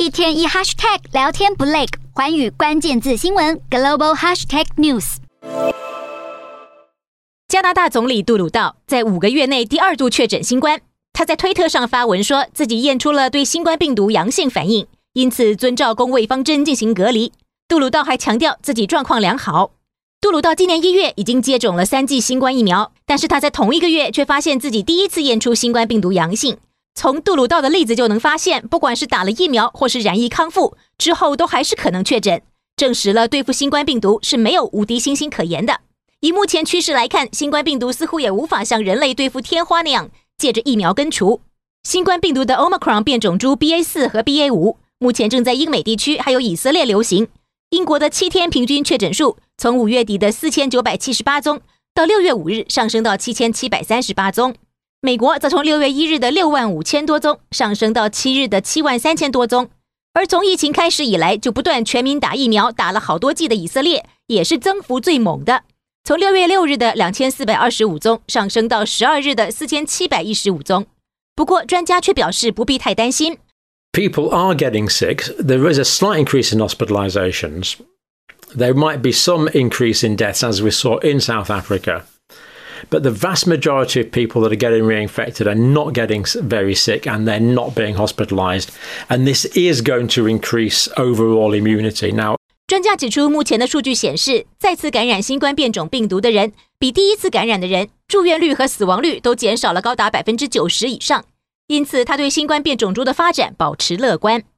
一天一 hashtag 聊天不累，寰宇關鍵字新聞 Global Hashtag News。 加拿大總理杜魯道在5個月內第2度確診新冠，他在推特上發文說自己驗出了對新冠病毒陽性反應，因此遵照公衛方針進行隔離。杜魯道還強調自己狀況良好。杜魯道今年1月已經接種了3劑新冠疫苗，但是他在同一個月卻發現自己第一次驗出新冠病毒陽性。從杜魯道的例子就能發現，不管是打了疫苗或是染疫康復之後，都還是可能確診，證實了對付新冠病毒是沒有無敵星星可言的。以目前趨勢來看，新冠病毒似乎也無法像人類對付天花那樣借着疫苗根除。新冠病毒的 Omicron 變種株 BA4 和 BA5 目前正在英美地區還有以色列流行。英國的7天平均確診數從5月底的4978宗到6月5日上升到7738宗。美國則從6月1日的65000多宗上升到7日的73000多宗。而從疫情開始以來就不斷全民打疫苗，打了好多劑的以色列也是增幅最猛的，從6月6日的2425宗上升到12日的4715宗。不過專家卻表示不必太擔心。 People are getting sick. There is a slight increase in hospitalizations. There might be some increase in deaths as we saw in South Africa. But the vast majority of people that are getting reinfected are not getting very sick and they're not being hospitalized. And this is going to increase overall immunity. Now, 專家指出，目前的數據顯示，再次感染新冠變種病毒的人，比第一次感染的人住院率和死亡率都減少了高達90%以上。因此，他對新冠變種株的發展保持樂觀。